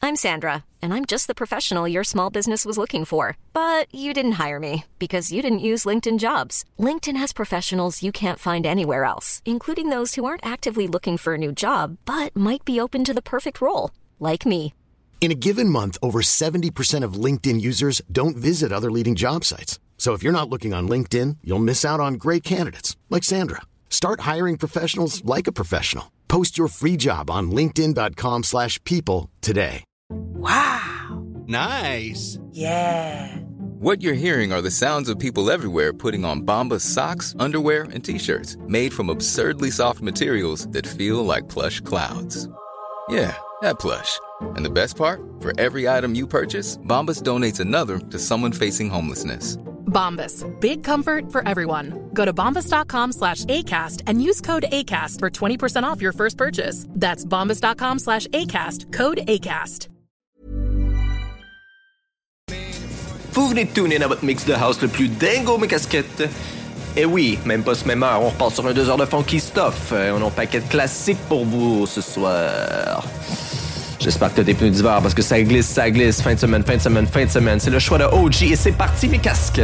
I'm Sandra, and I'm just the professional your small business was looking for. But you didn't hire me because you didn't use LinkedIn Jobs. LinkedIn has professionals you can't find anywhere else, including those who aren't actively looking for a new job, but might be open to the perfect role, like me. In a given month, over 70% of LinkedIn users don't visit other leading job sites. So if you're not looking on LinkedIn, you'll miss out on great candidates like Sandra. Start hiring professionals like a professional. Post your free job on linkedin.com/people today. Wow. Nice. Yeah. What you're hearing are the sounds of people everywhere putting on Bombas socks, underwear, and T-shirts made from absurdly soft materials that feel like plush clouds. Yeah, that plush. And the best part? For every item you purchase, Bombas donates another to someone facing homelessness. Bombas. Big comfort for everyone. Go to bombas.com/ACAST and use code ACAST for 20% off your first purchase. That's bombas.com/ACAST. Code ACAST. Vous venez de tuner dans votre mix de house le plus dingo mes casquettes. Et oui, même pas ce même heure, on repart sur un 2 heures de funky stuff. On a un paquet de classiques pour vous ce soir. J'espère que t'as des pneus d'hiver parce que ça glisse. Fin de semaine. C'est le choix de OG et c'est parti mes casques.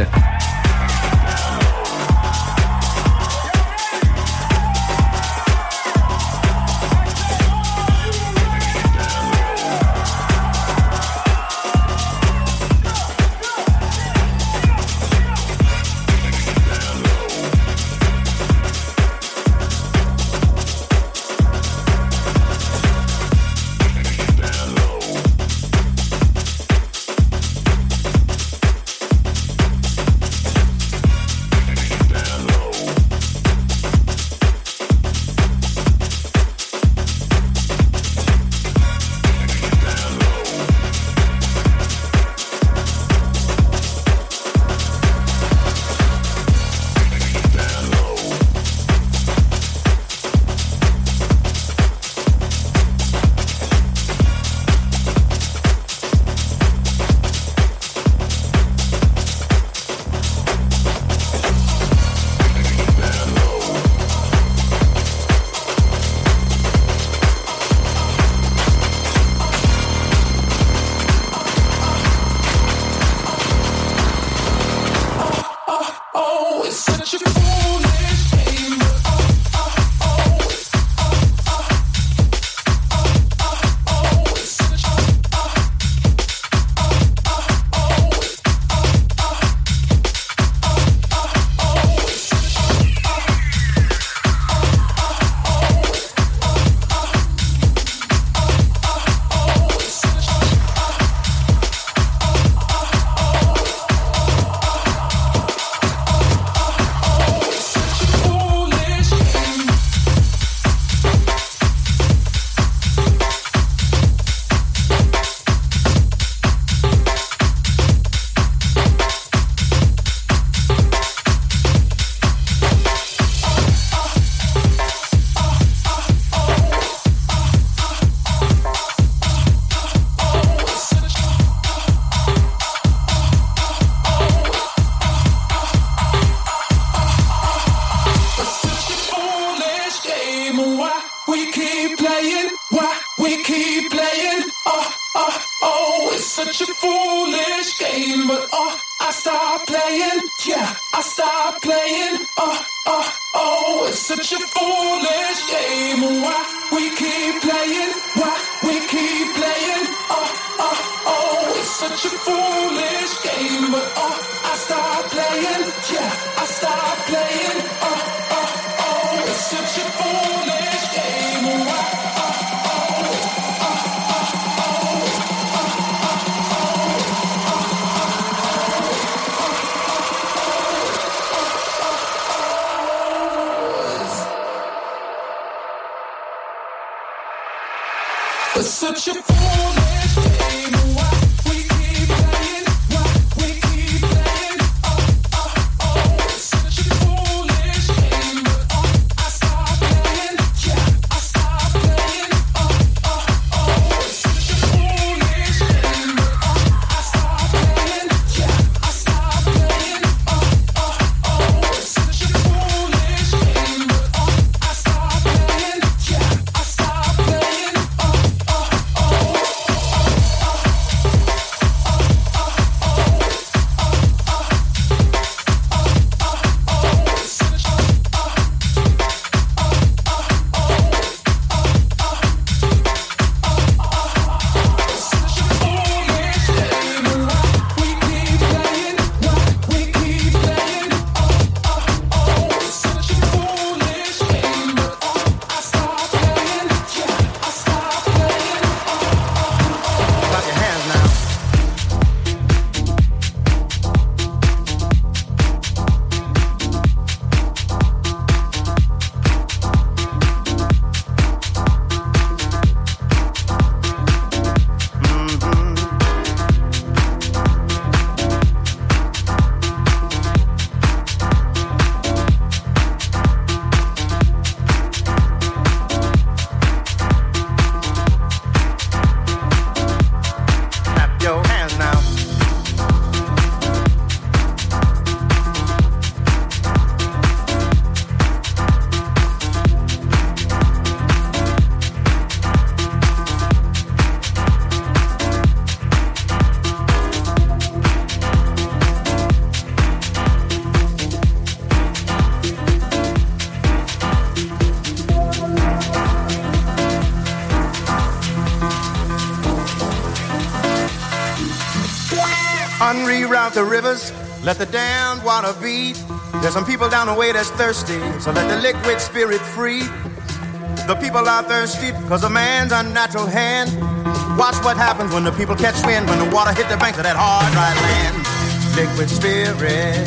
Unreroute the rivers, let the damned water beat. There's some people down the way that's thirsty, so let the liquid spirit free. The people are thirsty because of man's unnatural hand. Watch what happens when the people catch wind, when the water hit the banks of that hard, dry land. Liquid spirit,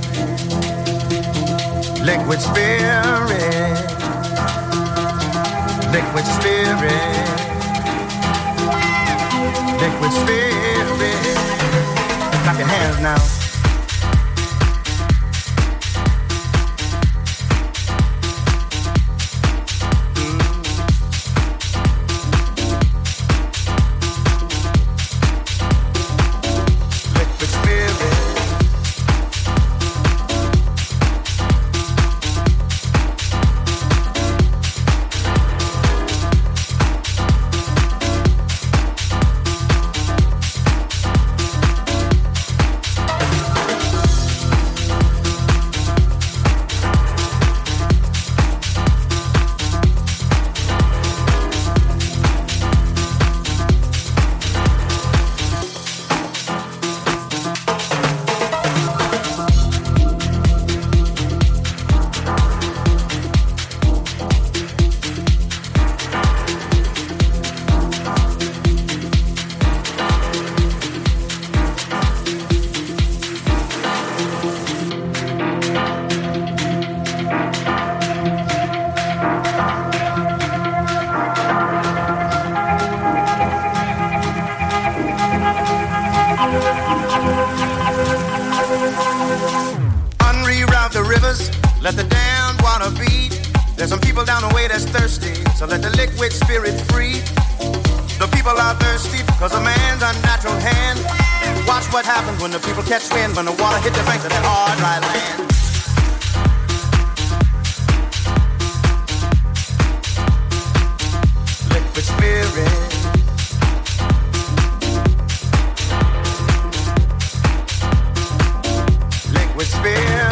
liquid spirit, liquid spirit, liquid spirit. Clap your hands now. Unreroute the rivers, let the damned water beat. There's some people down the way that's thirsty, so let the liquid spirit free. The people are thirsty because of man's unnatural hand. Watch what happens when the people catch wind, when the water hit the banks of that hard, dry land. Liquid spirit, liquid spirit.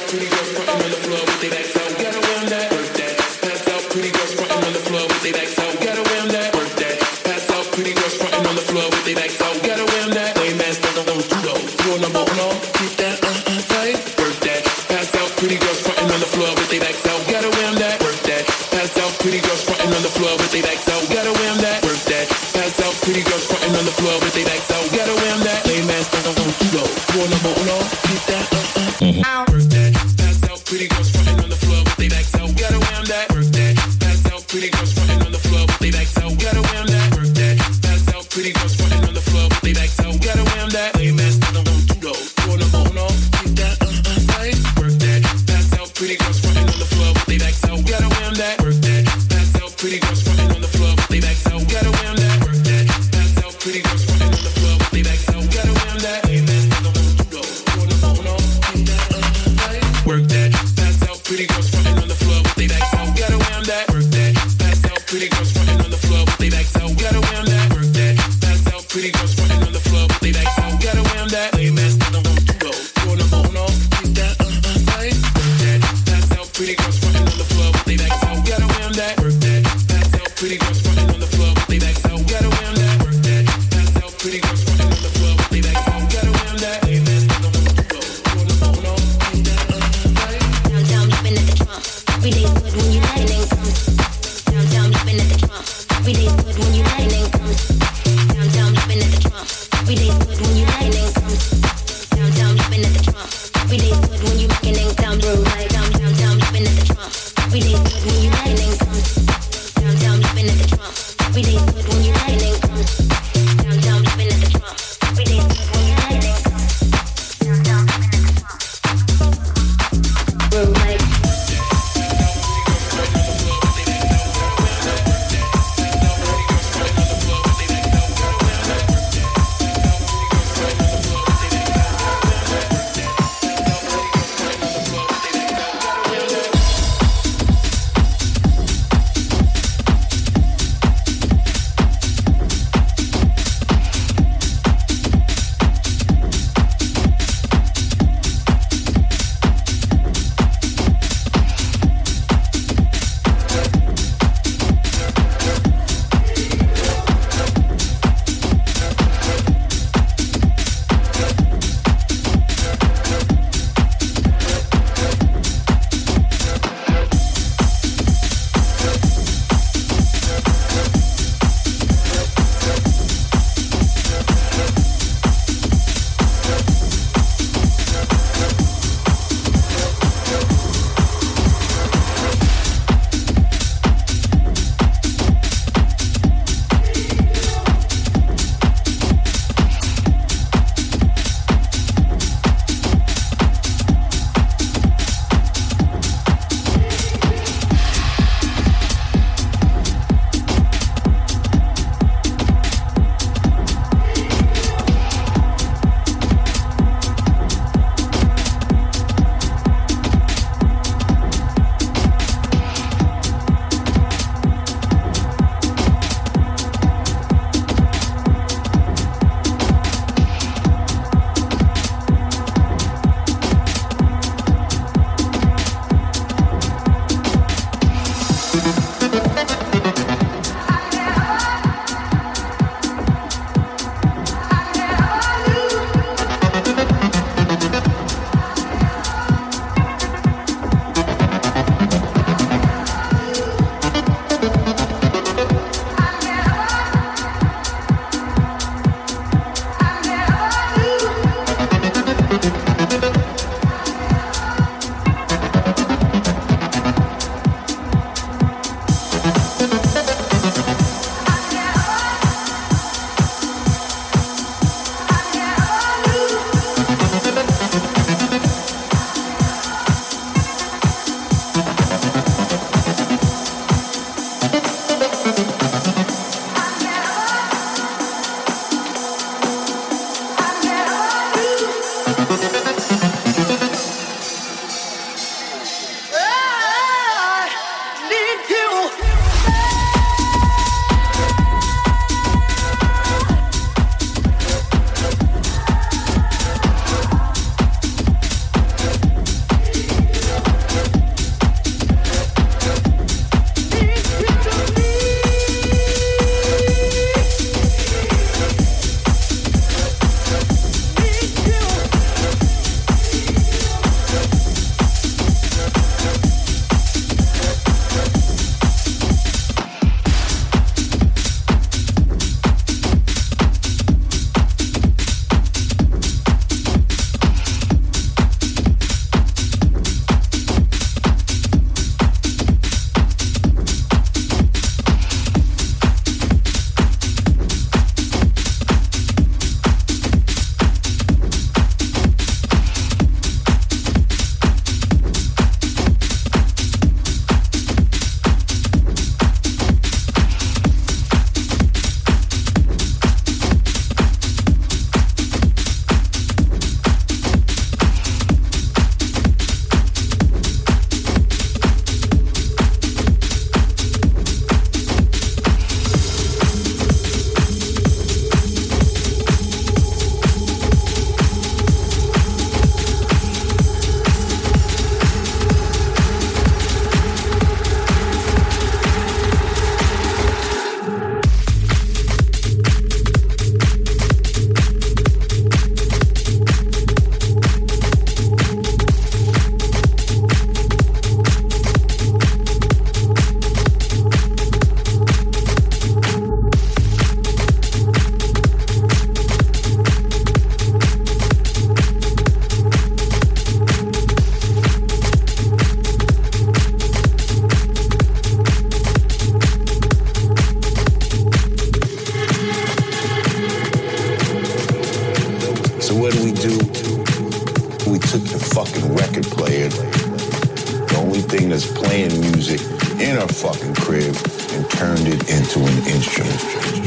Every day's good when you let it in. Downtown, you've been at the trunk. thing that's playing music in her fucking crib and turned it into an instrument.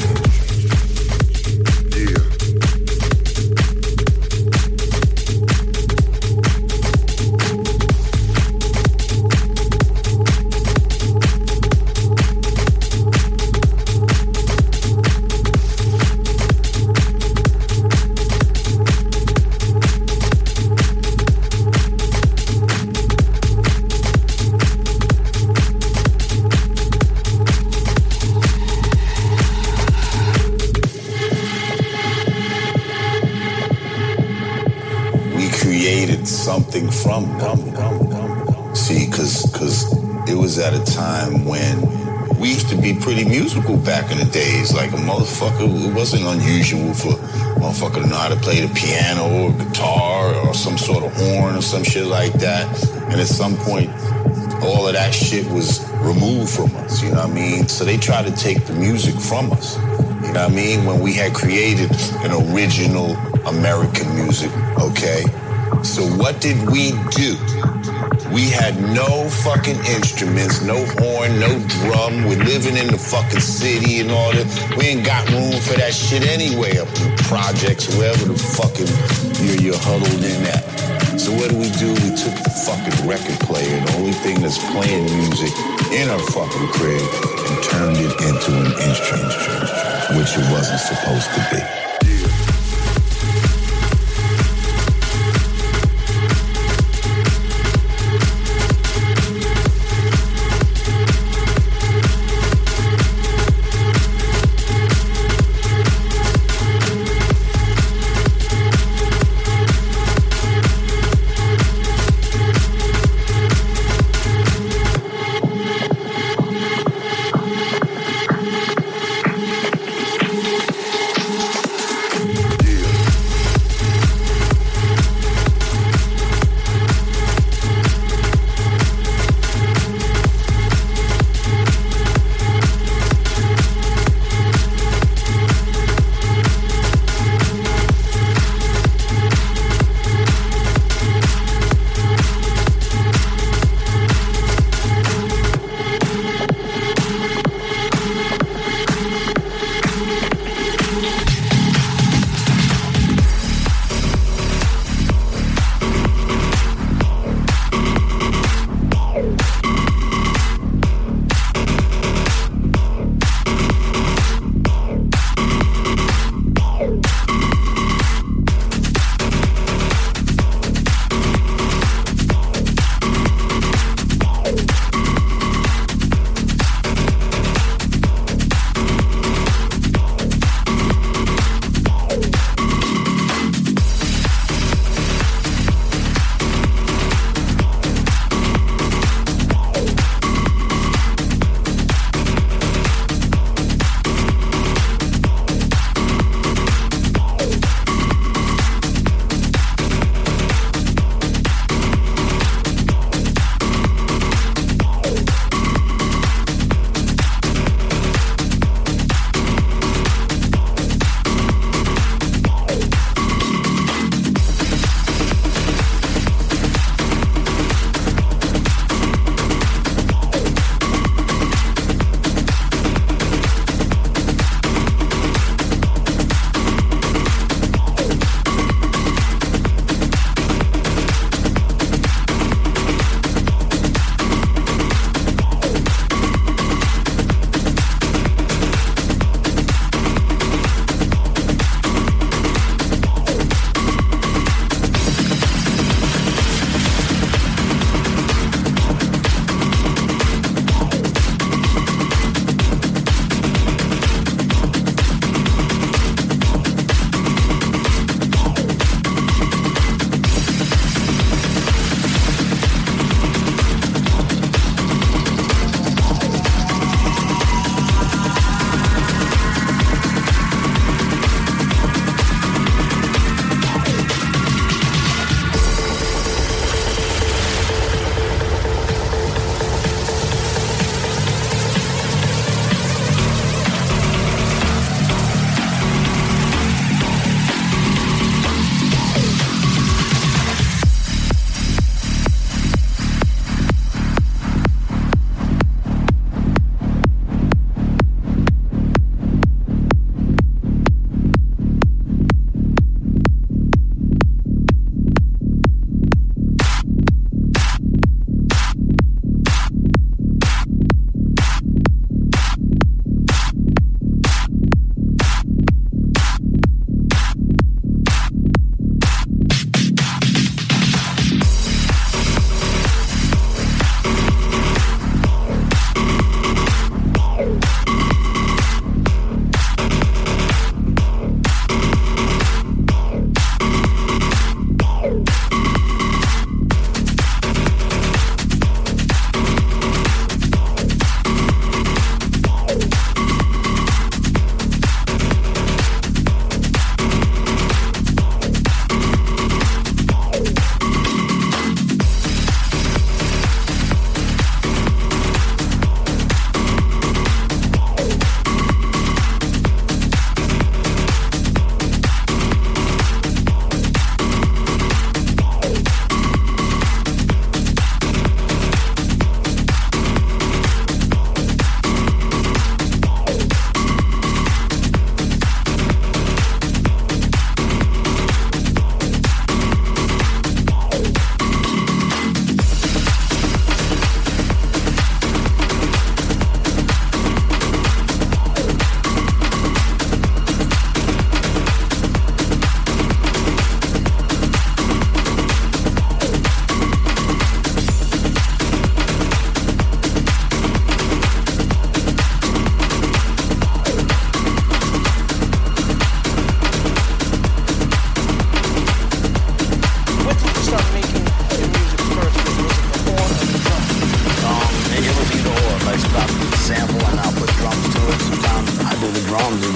Something from them. See, because it was at a time when we used to be pretty musical back in the days. Like a motherfucker, it wasn't unusual for a motherfucker to know how to play the piano or guitar or some sort of horn or some shit like that. And at some point, all of that shit was removed from us, you know what I mean? So they tried to take the music from us, you know what I mean? When we had created an original American music, okay? So what did we do? We had no fucking instruments, no horn, no drum. We're living in the fucking city and all that. We ain't got room for that shit anyway up in the projects, wherever the fucking you're huddled in at. So what do? We took the fucking record player, the only thing that's playing music in our fucking crib, and turned it into an instrument, which it wasn't supposed to be.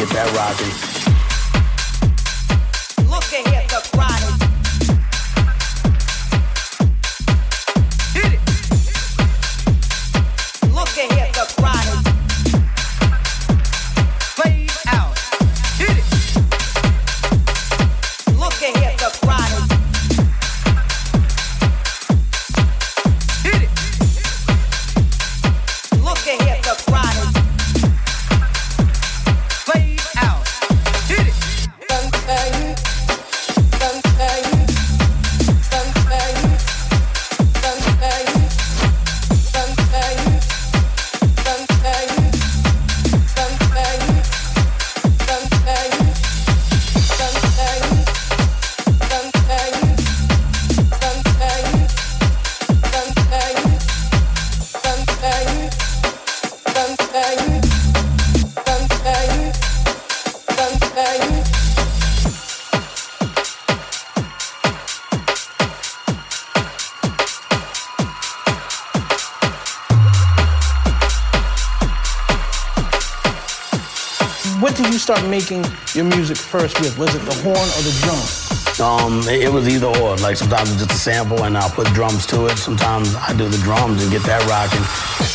get that rocking. Look ahead, the chronic. Hit it. Look ahead, the chronic. Fade out. Hit it. Look ahead, the chronic. Hit it. Look ahead, the chronic. Fade out. Hit it. What did you start making your music first with? Was it the horn or the drum? It was either or. Like sometimes it's just a sample and I'll put drums to it. Sometimes I do the drums and get that rocking.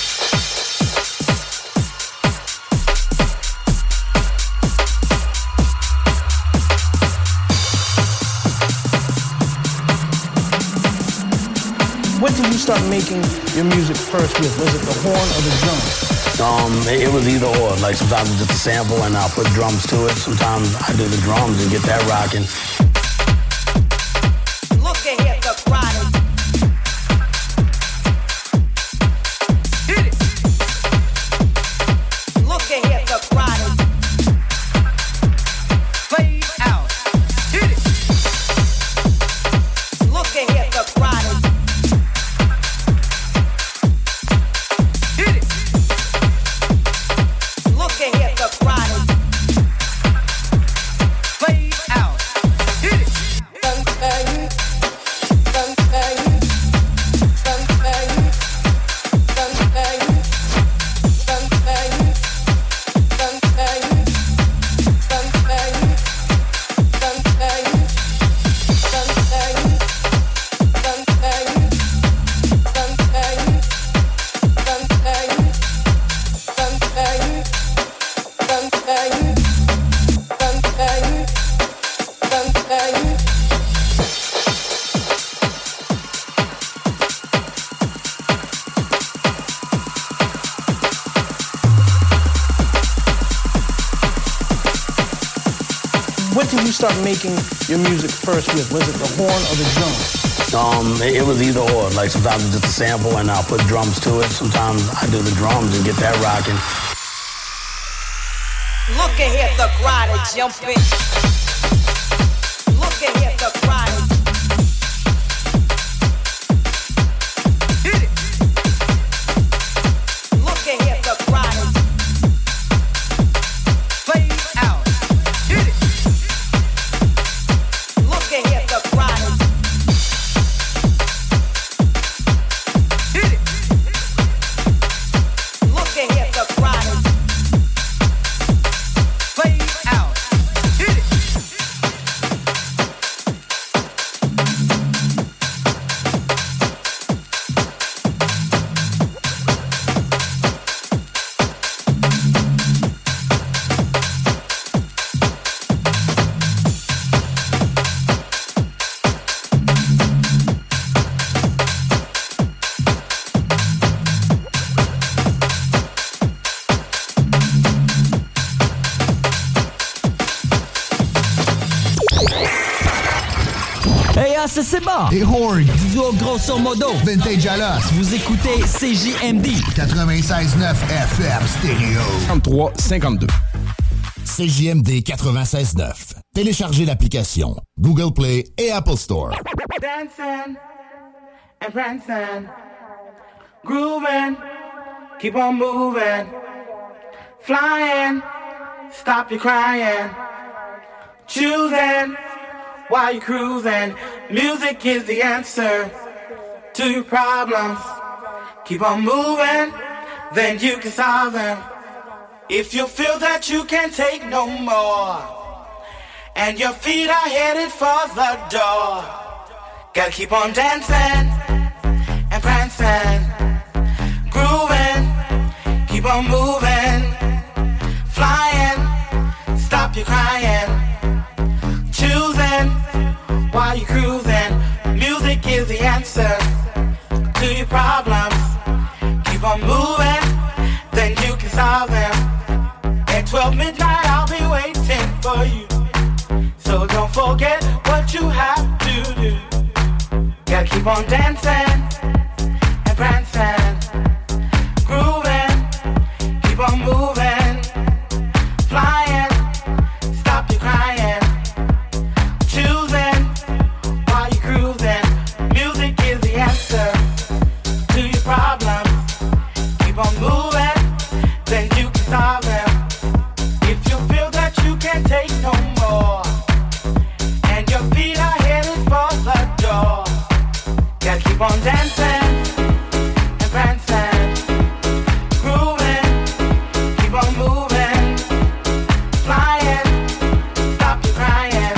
What did you start making your music first with? Was it the horn or the drum? It was either or. Like sometimes it's just a sample and I'll put drums to it. Sometimes I do the drums and get that rocking. Look ahead, the chronic. Hit it. Look ahead, the chronic. Fade out. Hit it. Look ahead, the chronic. Hit it. Look ahead, the chronic. Fade out. Hit it. What did you start making your music first with? Was it the horn or the drum? It was either or. Like sometimes it's just a sample and I'll put drums to it. Sometimes I do the drums and get that rocking. Look ahead, the chronic jumping. Look ahead, the chronic. Hit it. Look ahead, the chronic. Fade out. Hit it. Look ahead, the chronic. Hit it. Look ahead, the chronic. Fade out. Hit it. C'est bon. Et Horn. Duo grosso modo. Vintage Alas. Vous écoutez CJMD. 96.9 FM Stéréo. 33-52. CJMD 96.9. Téléchargez l'application Google Play et Apple Store. Dancing and prancing, grooving, keep on moving, flying, stop your crying, choosing while you're cruising. Music is the answer to your problems. Keep on moving, then you can solve them. If you feel that you can't take no more, and your feet are headed for the door, gotta keep on dancing and prancing, grooving, keep on moving, flying, stop your crying, choosing while you're cruising. Music is the answer to your problems. Keep on moving, then you can solve them. At 12 midnight I'll be waiting for you, so don't forget what you have to do. Gotta keep on dancing and prancing, grooving, keep on moving, flying, stop your crying, choosing while you're cruising. Music is the answer to your problems. Keep on moving, then you can solve them. If you feel that you can't take no more, and your feet are headed for the door, gotta keep on dancing and prancing, grooving, keep on moving, flying, stop your crying,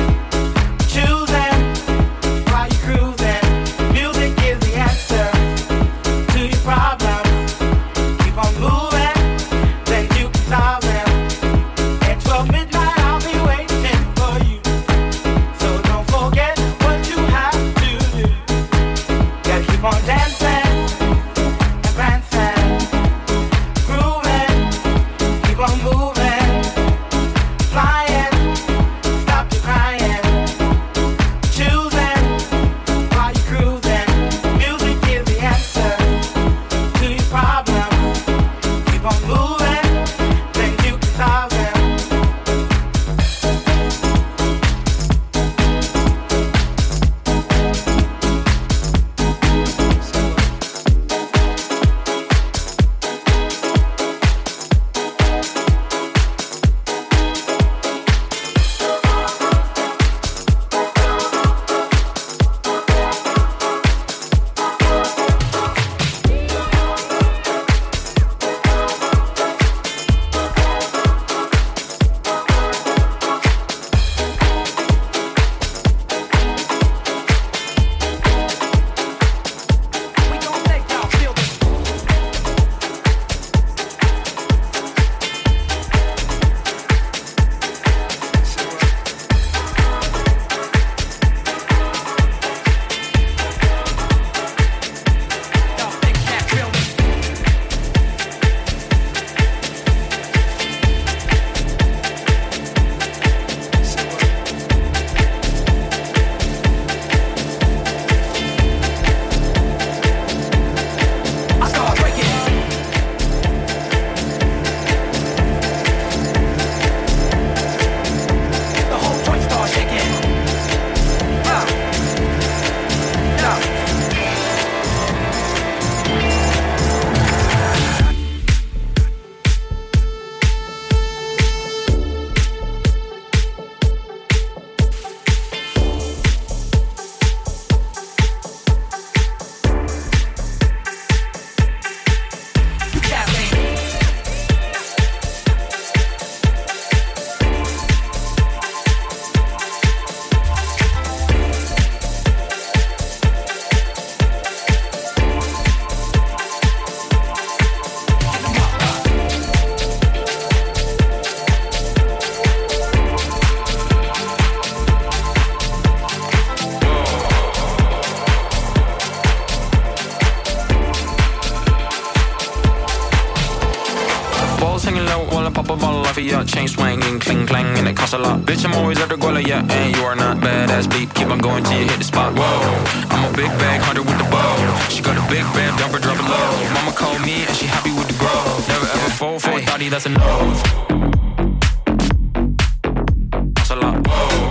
choosing while you're cruising. Music is the answer to your problems. Keep on moving, then you can solve them. At 12 midnight I'll be waiting for you, so don't forget what you have to do. Gotta keep on dancing and prancing, grooving, keep on moving, flying, stop your crying, choosing while you're cruising. Music is the answer to your problems. Keep on moving, then you can solve them. Chain swinging, cling clang, and it costs a lot. Bitch, I'm always at the goal, yeah, and you are not badass beat. Keep on going till you hit the spot. Whoa, I'm a big bag hunter with the bow. She got a big band, dump her, drop it low. Mama called me and she happy with the grow. Never ever fall for a thotty, that's a no. Costs a lot. Whoa,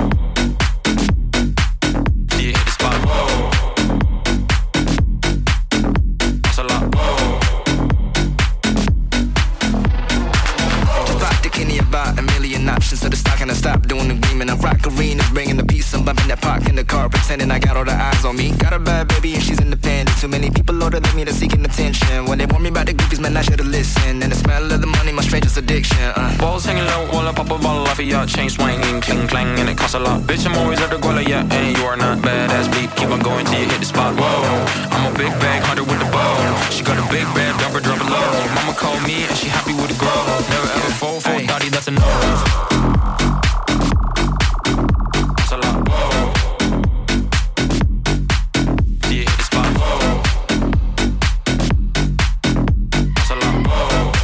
till you hit the spot. Whoa, costs a lot. Whoa. About a million options to the stock and I stop doing the green and I rock arenas, bringing the peace. I'm bumping that park in the car, pretending I got all the eyes on me. Got a bad baby and she's independent. Too many people Lord, they me to seeking attention. When they warn me about the goofies, man, I should've listened. And the smell of the money, my strangest addiction. Balls hanging low while I pop a bottle off of ya. Chain swinging, cling clang, and it costs a lot. Bitch, I'm always at the guala, yeah, and you are not badass beat. Keep on going till you hit the spot. Whoa, I'm a big bag hunter with the bow. She got a big bag, dump her, drop it low. Mama called me and she happy with the grow. Never ever fall for a thotty, that's a no. That's a lot. Whoa. Till you hit the spot. Whoa. That's a lot. Whoa.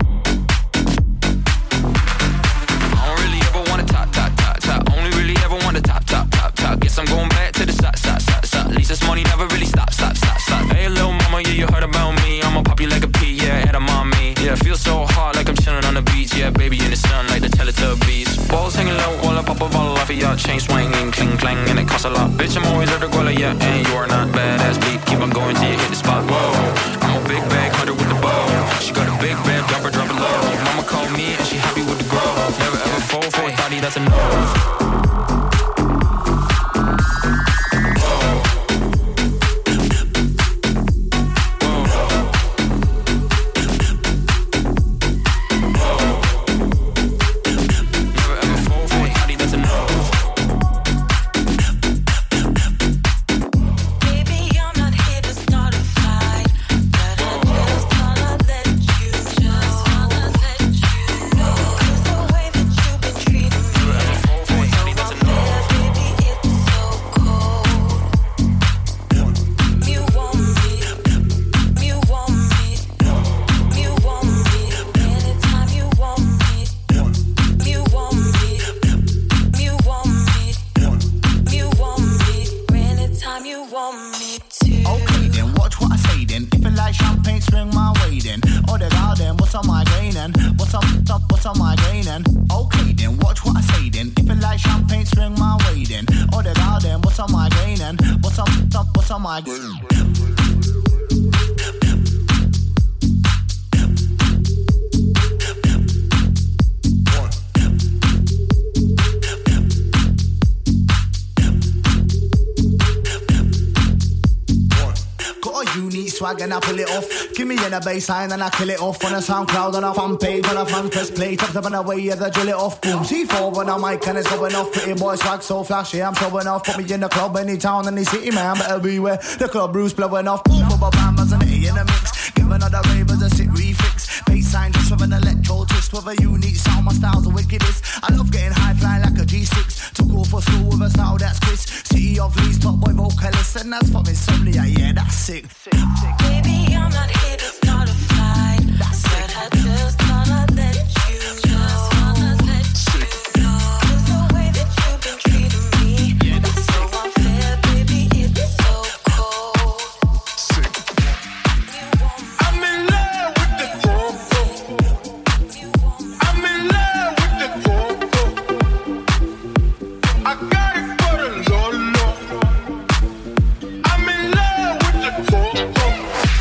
I don't really ever want to top. Only really ever want to top. Guess I'm going back to the side. At least this money never really stop. Hey, little mama, yeah, you heard about me. I'ma pop you like a pea, yeah, head of mommy. Yeah, feel so hot like I'm chilling on the beach. Yeah, baby in the sun like the Teletubbies. Balls hanging low while I pop a bottle off of ya. Chain swinging, cling clang, and it costs a lot. Bitch, I'm always at the guala, yeah, and you are not badass beat. Keep on going till you hit the spot. Whoa, I'm a big bag hunter with the bow. She got a big bag, drop it low. Mama called me and she happy with the grow. Never ever fall for a thotty, that's a no. And I pull it off. Give me in a baseline and I kill it off on a SoundCloud on a fan page on a fan press play. Top up on the way, yeah, they drill it off. Boom, C4 on a mic and it's going off. Pretty boy swag so flashy, I'm showing off. Put me in the club, any town, any city, man, better beware. The club Bruce blowing off. Boom, boom, bam, bam, and in the mix. Give another ravers a sit refix. Baseline just with an electro twist with a unique sound. My style's the wickedest. I love getting high flying like a G6. Took off for school with a style that's Chris. City of Leeds, top boy vocalist, and that's fucking insomnia. Yeah, that's sick. Baby, I'm not here to start a fight, but I just wanna let you know. There's no way that you've been treating me. It's so unfair, baby, it's so cold. I'm in love with the coco. I'm in love with the coco. I got it for the Lolo. I'm in love with the coco.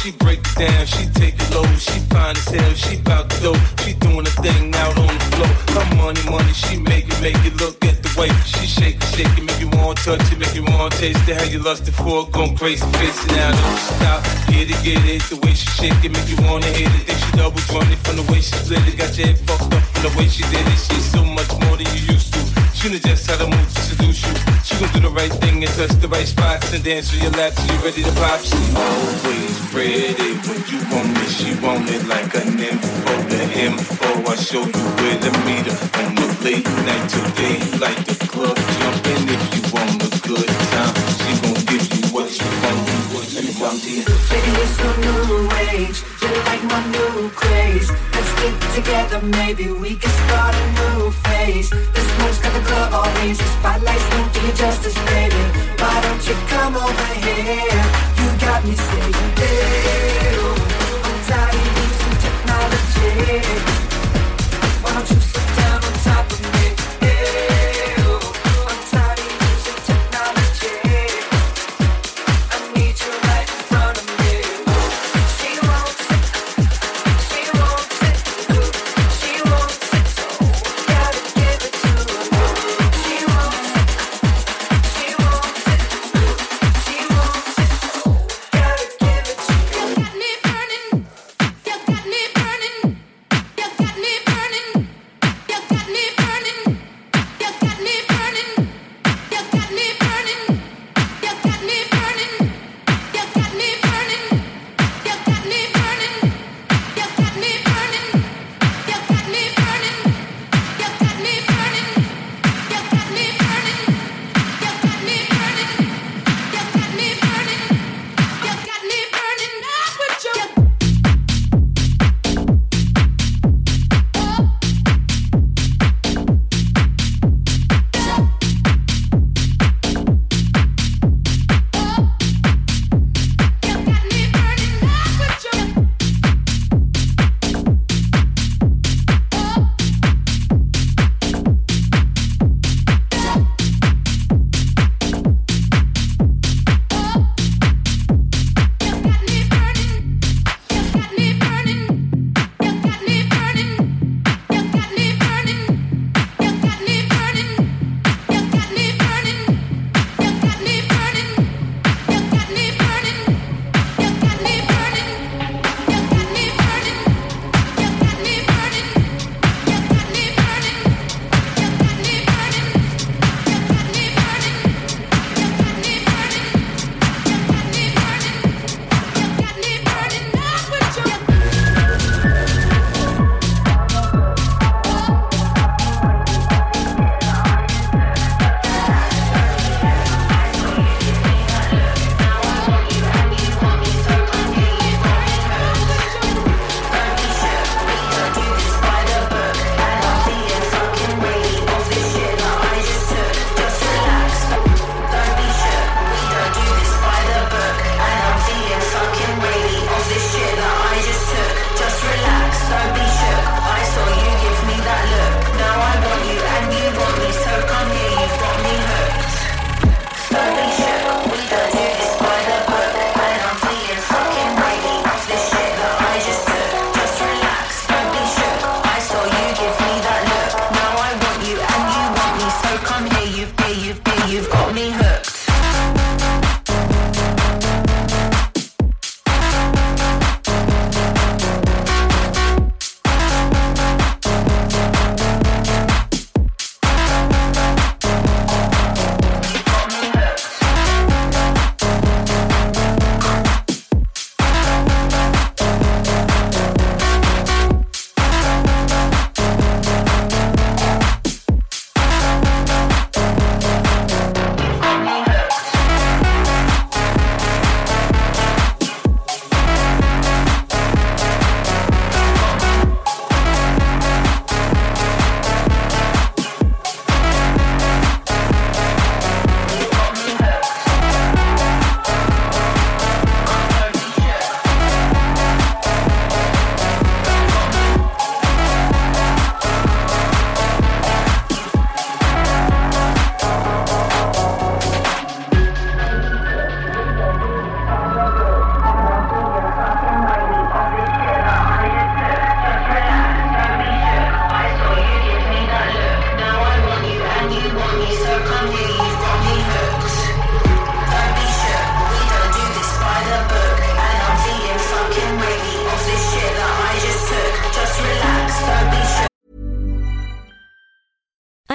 She break it down, she take it low. She fine as hell, she bout to go. She doing a thing out on the floor. Her money, she make it look at the way she shake it, make you want to touch it, make you want to taste it. How you lusted for it, going crazy, face it now, don't stop. Get it, the way she shake it, make you wanna hit it. Think she double jointed from the way she split it. Got your head fucked up from the way she did it. She's so much more than you used to. She knows just how to move to seduce you. She gon' do the right thing and touch the right spots and dance on your lap till you ready to pop. She always ready when you want it. She want it like an info, the info. I show you where to meet her on the late night today. Like the club jumping if you want a good time. She gon' give you what you want. Baby, it's a new age. You like my new craze. Let's get together, maybe we can start a new phase. This moon's got the club all hazy. Spotlights don't do you justice, baby. Why don't you come over here? You got me saying, ew. I'm tired of using technology. Why don't you sit down on top of me? Ew. I'm tired of using technology. I need you right in front of me. She wants it. She wants it. She wants it. So gotta give it to her. She wants it. She wants it. She wants it. So gotta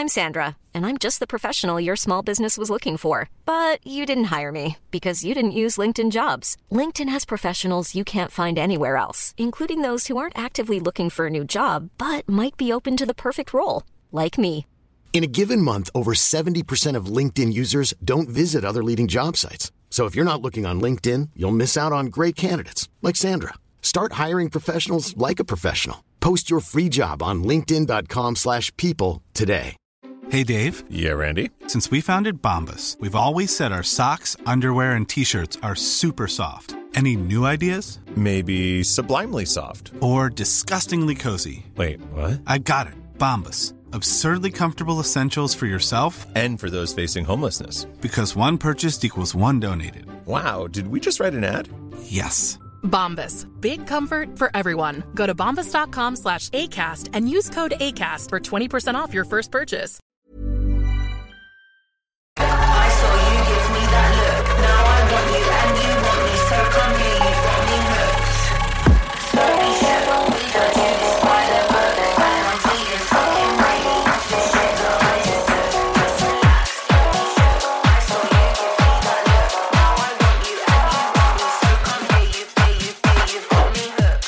I'm Sandra, and I'm just the professional your small business was looking for. But you didn't hire me because you didn't use LinkedIn Jobs. LinkedIn has professionals you can't find anywhere else, including those who aren't actively looking for a new job, but might be open to the perfect role, like me. In a given month, over 70% of LinkedIn users don't visit other leading job sites. So if you're not looking on LinkedIn, you'll miss out on great candidates like Sandra. Start hiring professionals like a professional. Post your free job on linkedin.com/people today. Hey, Dave. Yeah, Randy. Since we founded Bombas, we've always said our socks, underwear, and T-shirts are super soft. Any new ideas? Maybe sublimely soft. Or disgustingly cozy. Wait, what? I got it. Bombas. Absurdly comfortable essentials for yourself and for those facing homelessness. Because one purchased equals one donated. Wow, did we just write an ad? Yes. Bombas. Big comfort for everyone. Go to bombas.com/ACAST and use code ACAST for 20% off your first purchase. I saw you give me that look. Now I want you and you want me. So come here, you've got me hooked. Slowly shook, we got you this by the book. And I'm feeling fucking ready. This shit that I just took. Just relax, slowly shook. I saw you give me that look. Now I want you and you want me. So come here, you've got me hooked.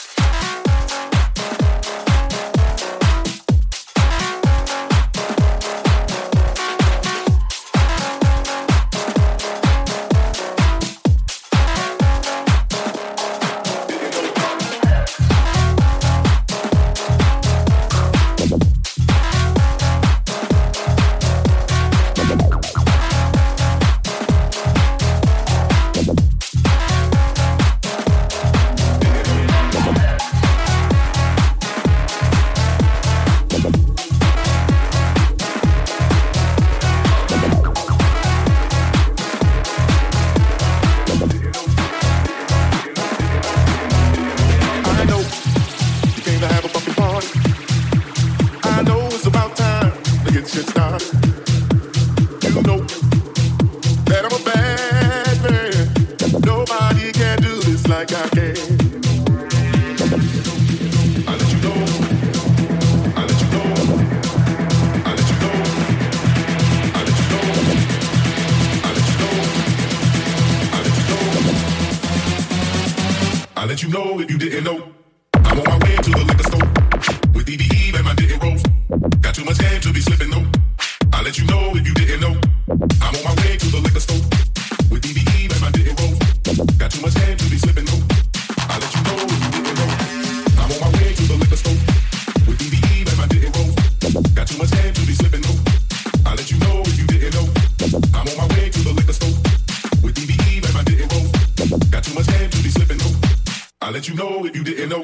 I'll let you know if you didn't know. I'm on my way to the liquor store with DVE and my didn't rolls. Got too much game to be slipping, no. I'll let you know if you didn't know. I'm on my way to the liquor store with DVE and my didn't rolls. Got too much game to be slipping, no. I'll let you know if you didn't know. I'm on my way to the liquor store with DVE and my didn't rolls. Got too much game to be slipping, no. I'll let you know if you didn't know. I'm on my way to the liquor store with DVE and my didn't rolls. Got too much game to be slipping, no. I'll let you know if you didn't know.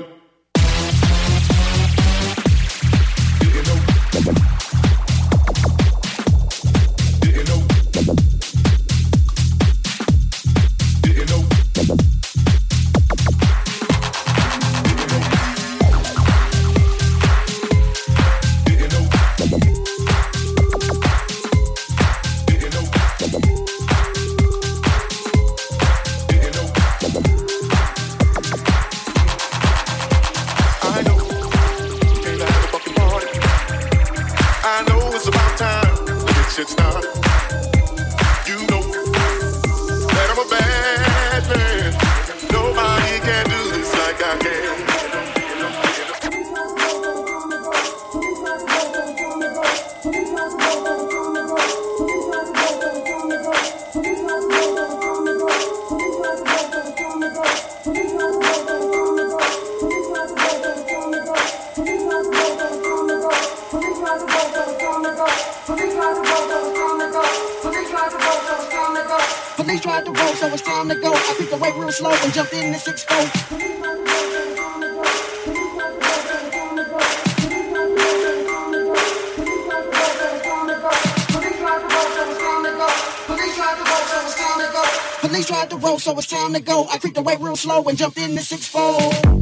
Didn't know. Didn't know. Didn't know. Shit start. You know that I'm a bad man. Nobody can do this like I can. Police tried to roll, so it's time to go. I picked the weight real slow and jumped in the 6-4. Police tried to roll, so it's time to go. I creeped away real slow and jumped in the 6-4.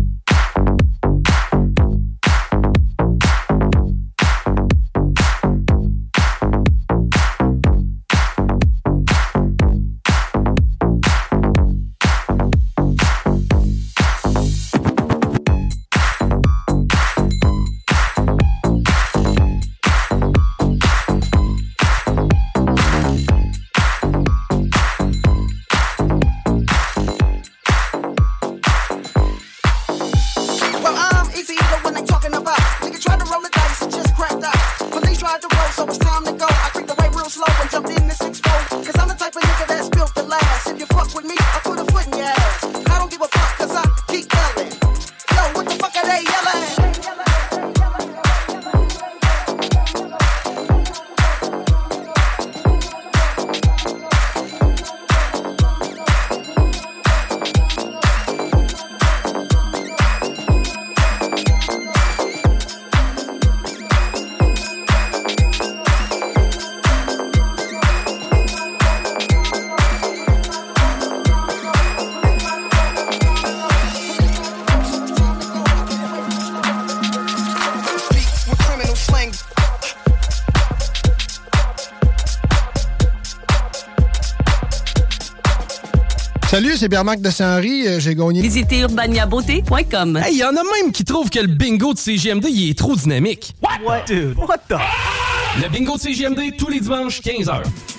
Salut, c'est Pierre-Marc de Saint-Henri. J'ai gagné. Visitez urbaniabeauté.com. Hey, y en a même qui trouvent que le bingo de CJMD, il est trop dynamique. What? Dude. What the? Le bingo de CJMD, tous les dimanches, 15h.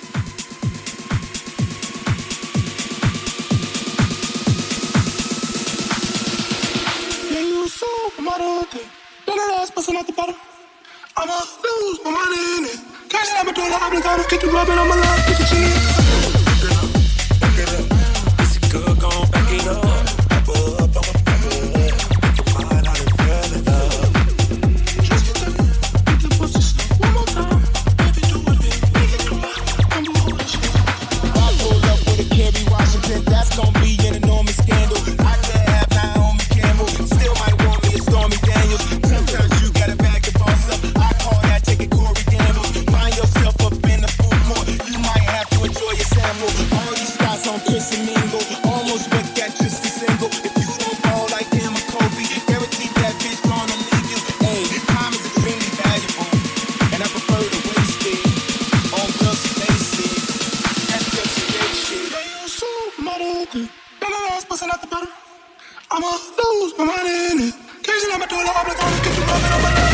I'ma lose my money in it. Cash it, I'ma do the obligado. Get you rubbing on my love, get your chin. Back it up. Is it good? Gon' back it up. Back it up, I'ma back it up. Fine, I done fell in love. Just get the pussy stuff one more time. Baby, do it, baby. Make it cry. I'm moving this shit. I pull up with a Kerry Washington. That's gon' be an enormous scandal. I could have Naomi Campbell. Still might want me a Stormy Daniels. Sometimes you gotta back the boss up. Take it, Corey Gamble. Find yourself up in the food court. You might have to enjoy your sample. All these guys on Chris and Mingle. Almost went that just a single. If you don't ball like him or Kobe, guaranteed that bitch gonna leave you. Hey, time is extremely valuable, and I prefer to waste it on girls who lazy. That's just the gay shit. You supermodel, got my ass busting out the bottom. I'ma lose my money in it. Occasionally I'ma do the obligado. Get you rubbing on my love.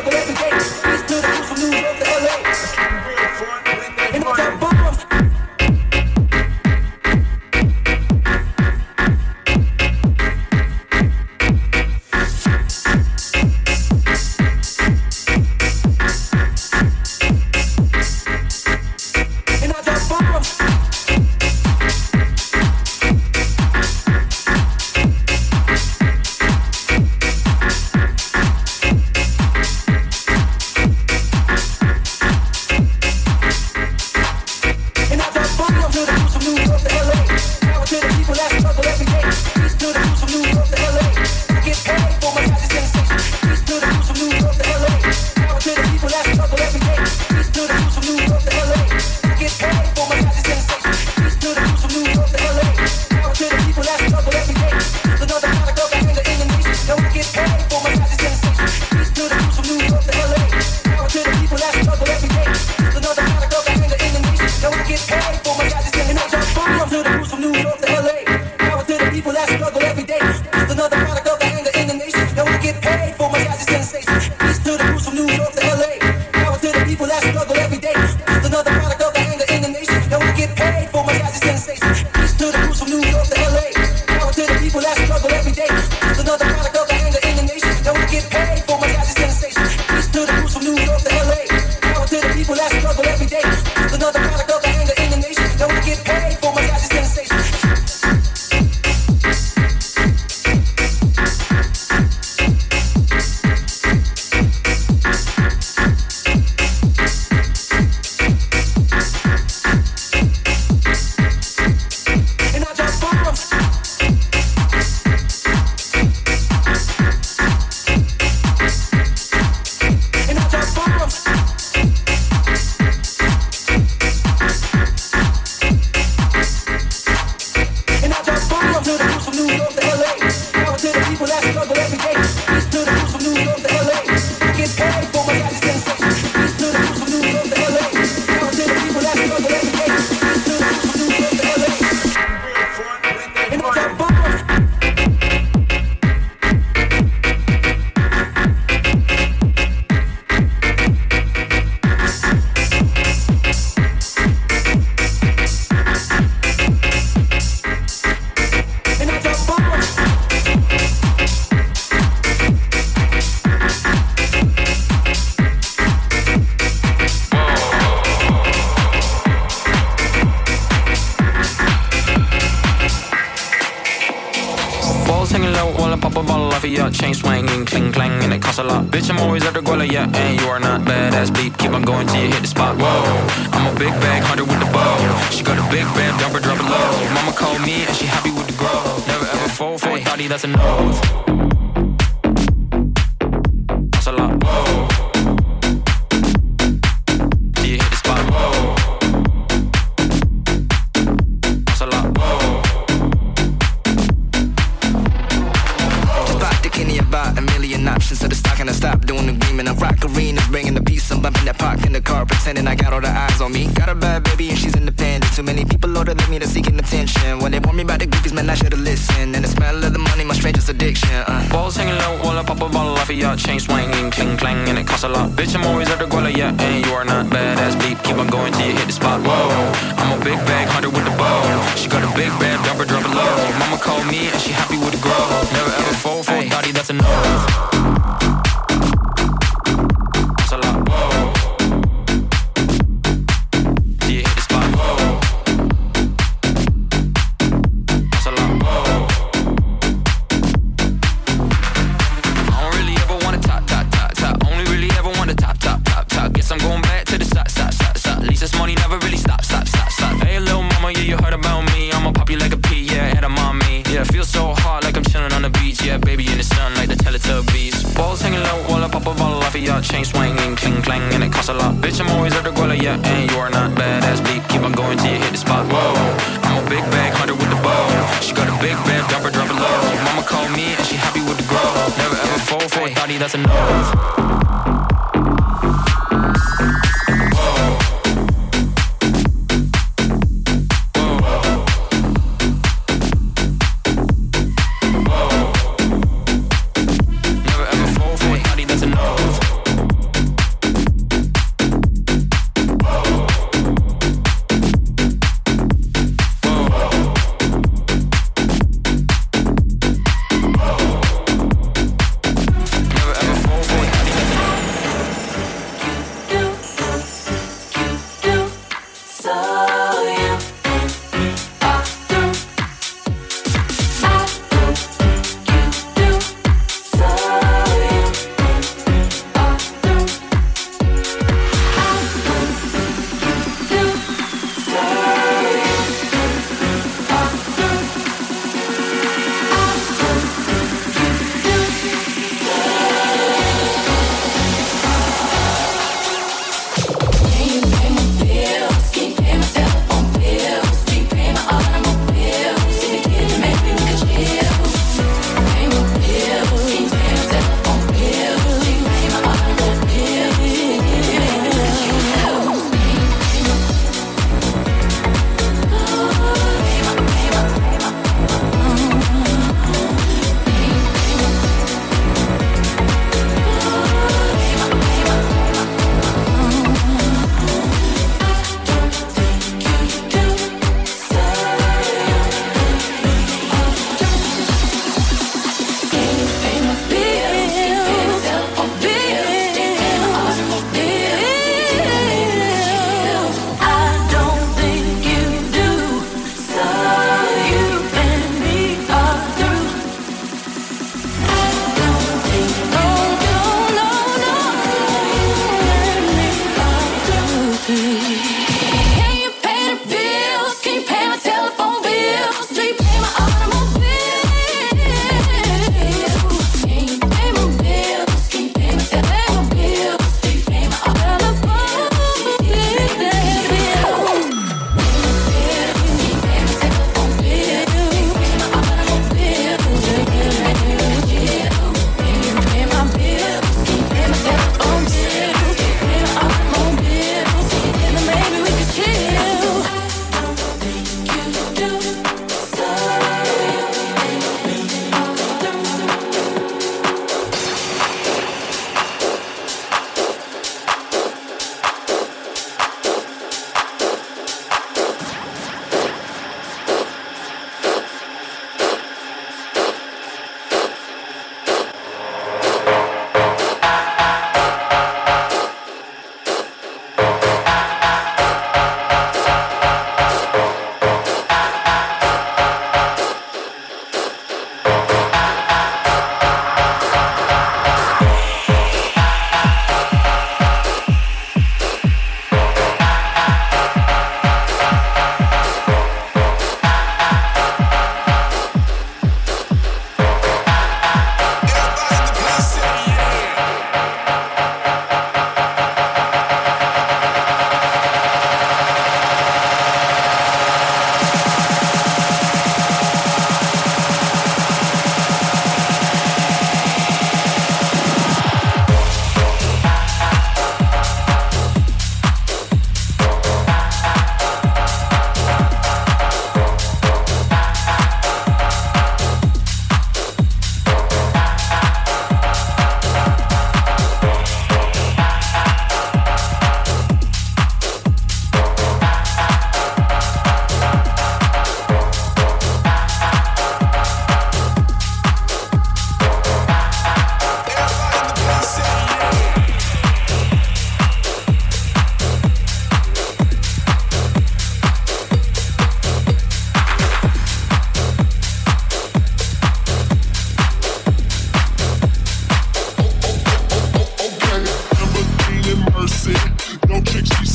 struggle every day. East to the coast from New York to LA. And I drop bombs. Chain swinging, cling clang, and it costs a lot. Bitch, I'm always at the goal, yeah, and you are not badass beat. Keep on going till you hit the spot. Whoa, I'm a big bag hunter with the bow. She got a big band, dump her, drop it low. Mama called me and she happy with the growth. Never ever fall for a thotty, that's a no. Costs a lot. Whoa, till you hit the spot. Whoa, costs a lot. Whoa. About a million options, so the stock and I stop doing agreement. I'm rock arenas, bringing the peace. I'm bumping that park in the car, pretending I got all the eyes on me. Got a bad baby and she's independent. Too many people older than me that's seeking attention. When they warn me about the groupies, man, I should've listened. And the smell of the money, my strangest addiction. Balls hanging low while I pop a bottle off of your chain swinging, cling clang, and it costs a lot. Bitch, I'm always at the guala, yeah, and you are not badass beat. Keep on going till you hit the spot. Whoa, I'm a big bag hunter with the bow. She got a big band, dump her, drop it low. Mama called me and she happy with the growth. Never ever fall for a thotty, that's a no. That's a lot. Whoa. Do you hit the spot? Whoa. That's a lot. Whoa. I don't really ever want to top. Only really ever want to top. Guess I'm going back to the side. At least this money never really stops. Hey, little mama, yeah, you heard about me. I'ma pop you like a pea, yeah, head of mommy. Yeah, feel so hot like I'm chilling on the beach. Yeah, baby in the sun like the Teletubbies. Balls hanging low while I pop a bottle off of your chain swinging, cling clang, and it costs a lot. Bitch, I'm always at the guala, yeah, and you are not badass beat. Keep on going till you hit the spot. Whoa, I'm a big bag hunter with the bow. She got a big band, dump her, drop it low. Mama called me and she happy with the growth. Never ever fall for a thotty, that's a no.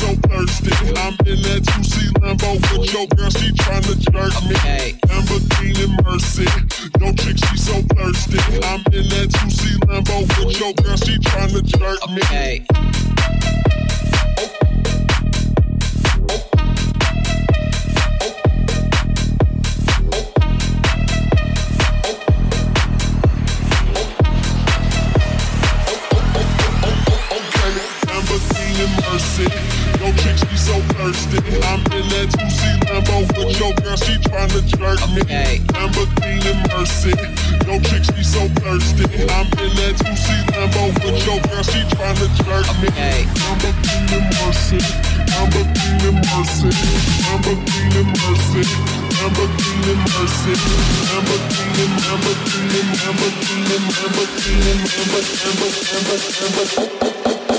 so thirsty. I'm in that 2C Lambo with your girl, she tryna jerk me. Lamborghini Mercy, your chick, she so thirsty. I'm in that 2C Lambo with your girl, she tryna jerk me. Mercy, your chick, she so thirsty. I'm in that 2C Lambo with your girl, she tryna jerk me. Lamborghini Mercy, your chick, she so thirsty. I'm in that 2C Lambo with your girl, she tryna jerk me. Lamborghini Mercy, Lamborghini Mercy, Lamborghini Mercy, Lamborghini Mercy, Lamborghini, Lamborghini, Lamborghini, Lamborghini, Lamborghini.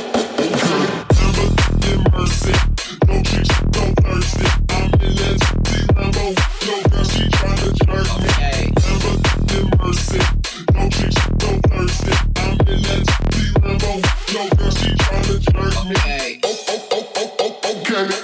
Mercy, no chick, so thirsty. I'm in that Lambo, no girl, she tryna jerk me. Lamborghini Mercy, no chick, so thirsty. I'm in that Lambo, no girl, she tryna jerk me. Okay.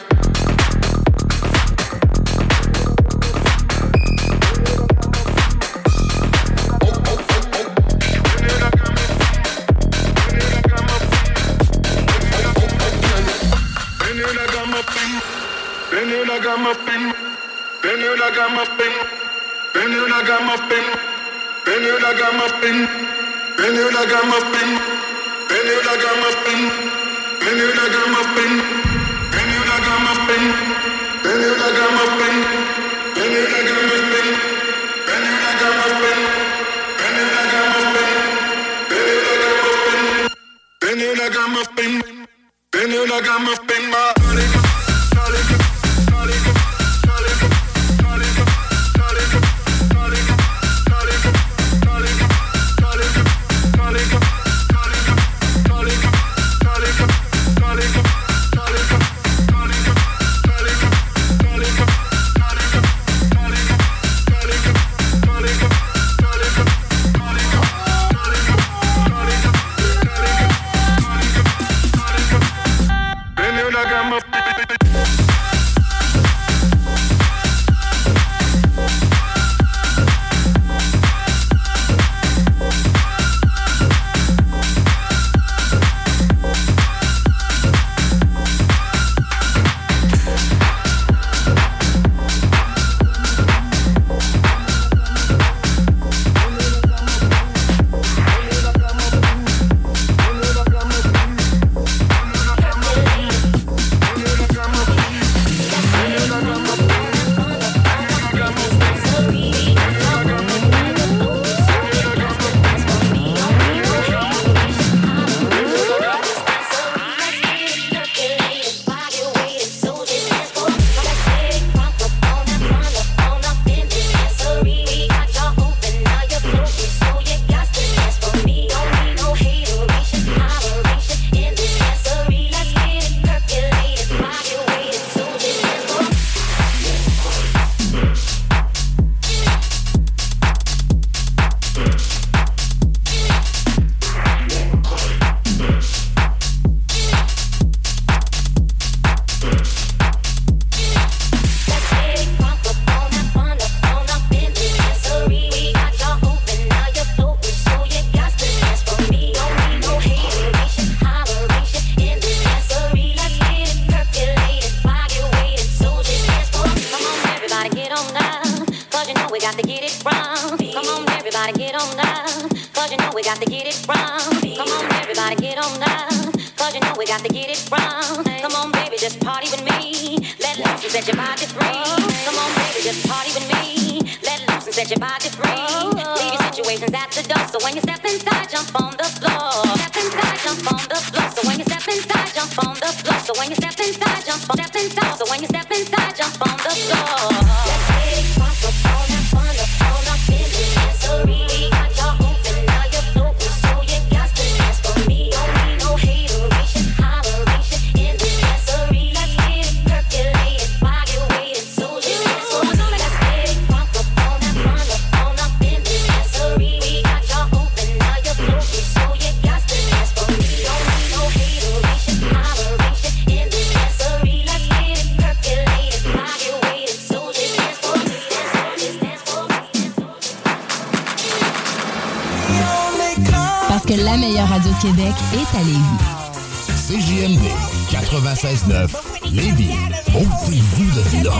La meilleure radio de Québec est à Lévis. CJMD 96.9 Lévis. Ôtez-vous de là.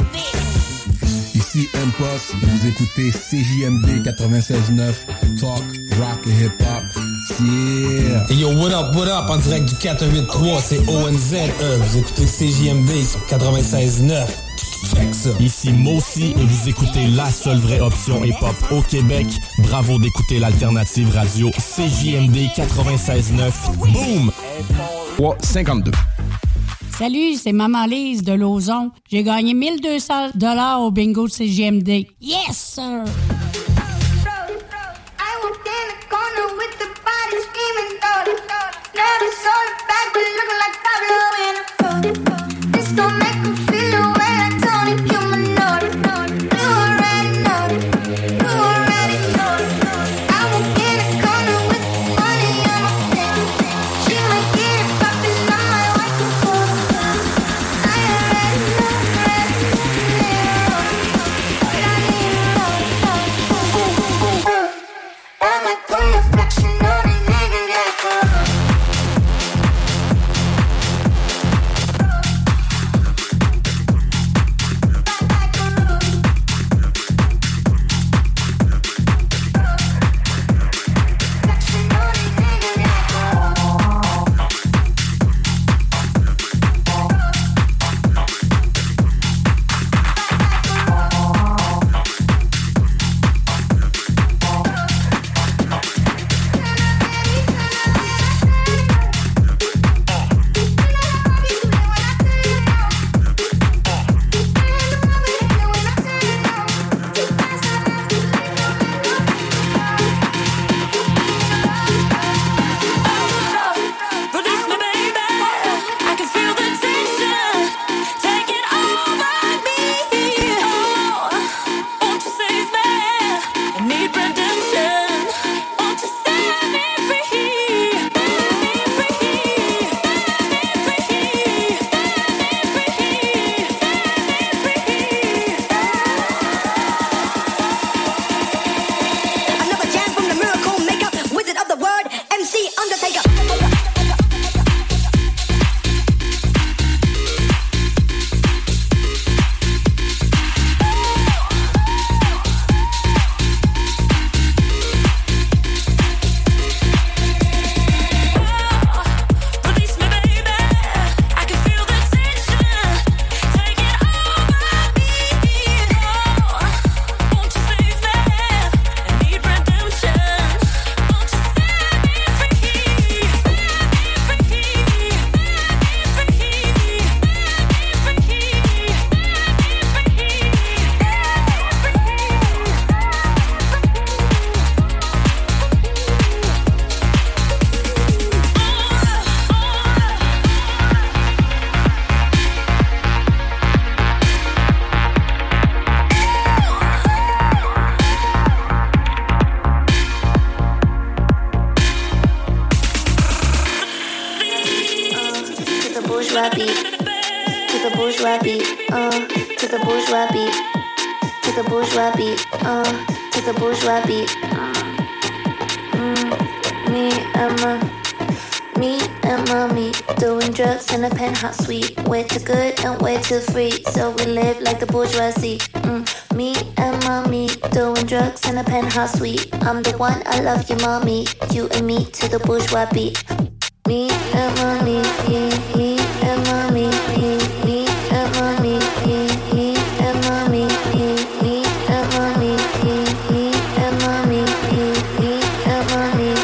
Ici M-Post, vous écoutez CJMD 96.9 Talk, Rock et Hip Hop. Yeah! Hey yo, what up? En direct du 483, c'est ONZE. Vous écoutez CJMD 96.9. Check ça. Ici Mossy et vous écoutez la seule vraie option hip-hop au Québec. Bravo d'écouter l'alternative radio CJMD 96.9. Boom! 3,52. Salut, c'est Maman Lise de Lauson. J'ai gagné 1200$ au bingo de CJMD. Yes, sir! Penthouse suite, way too good and way too free, so we live like the bourgeoisie. Me and mommy doing drugs in a penthouse suite. I'm the one, I love you, mommy. You and me to the bourgeois beat. Me and mommy, me and mommy, me and mommy, me and mommy, me and mommy, me and mommy, me and mommy.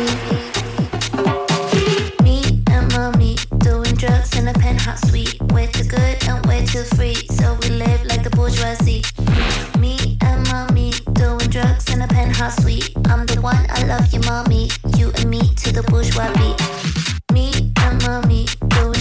Me and mommy doing drugs in a penthouse suite, way too good and way too free, so we live like the bourgeoisie. Me and mommy doing drugs in a penthouse suite. I'm the one, I love you, mommy. You and me to the bourgeois beat. Me and mommy doing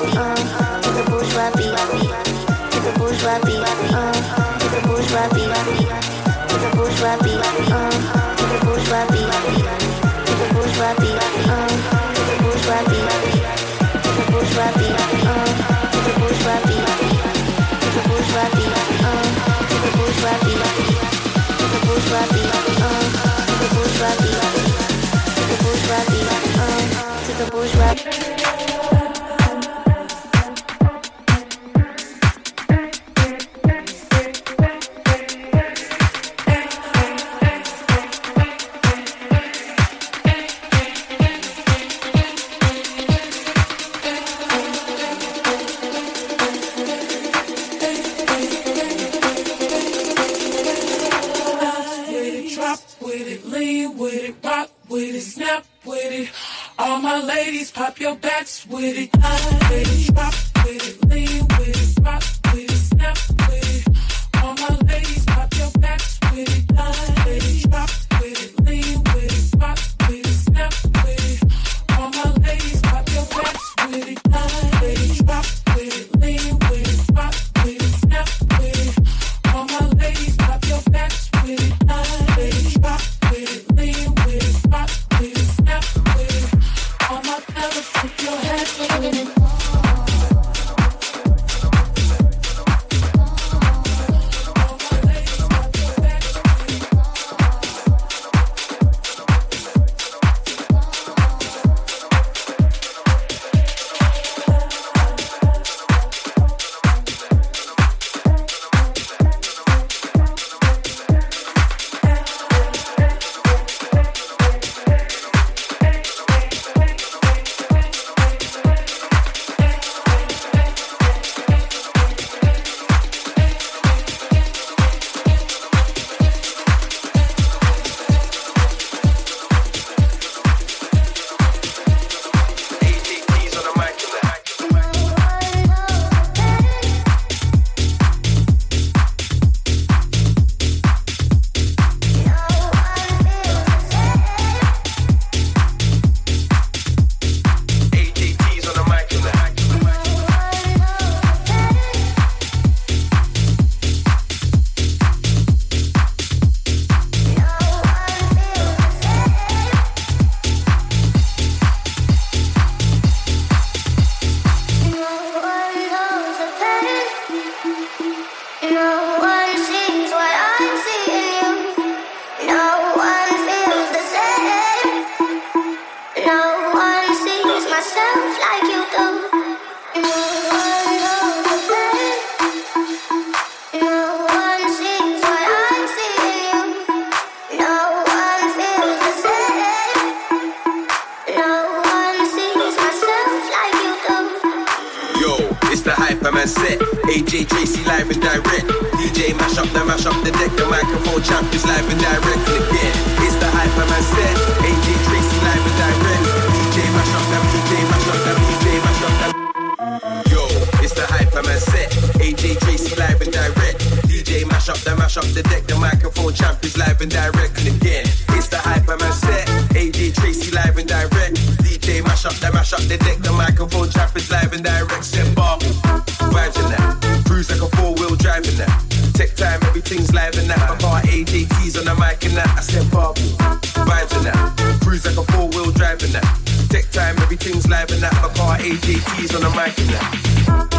to the bourgeois beat, to the bourgeois beat, to the bourgeois beat, to the bourgeois beat, to the bourgeois beat, to the bourgeois beat, to the bourgeois beat, to the bourgeois beat, to the bourgeois beat, to the bourgeois beat, to the bourgeois beat, to the bourgeois beat, to the bourgeois beat, to the bourgeois beat, to the bourgeois beat. Pop your backs with it, with it, drop with it, lean with it, rock with it, snap with it. All my ladies, pop your backs with it, with it, drop with it, lean with it, rock with it, snap with it. All my ladies, pop your backs with it, with it, drop with it, lean with it, rock with it, snap with it. All my ladies, pop your backs with it, with it, drop with it, lean with it, rock with it, snap with it. All my fellas, put your hands with it. AJ Tracy live and direct. DJ mash up the deck. The microphone champ is live and direct. And again, it's the Hyperman set. AJ Tracy live and direct. DJ mash up them, DJ mash up them, DJ mash up them. Yo, it's the Hyperman set. AJ Tracy live and direct. DJ mash up the deck. The microphone champ is live and direct. And again, it's the Hyperman set. AJ Tracy live and direct. DJ mash up the deck. The microphone champ is live and direct. Set bar. Vibes in that, cruise like a 4-wheel drive in that. Tech time, everything's live in that. My car AJT's on the mic in that. I said bubble, vibes in that, cruise like a 4-wheel drive in that. Tech time, everything's live in that. My car AJT's on the mic in that.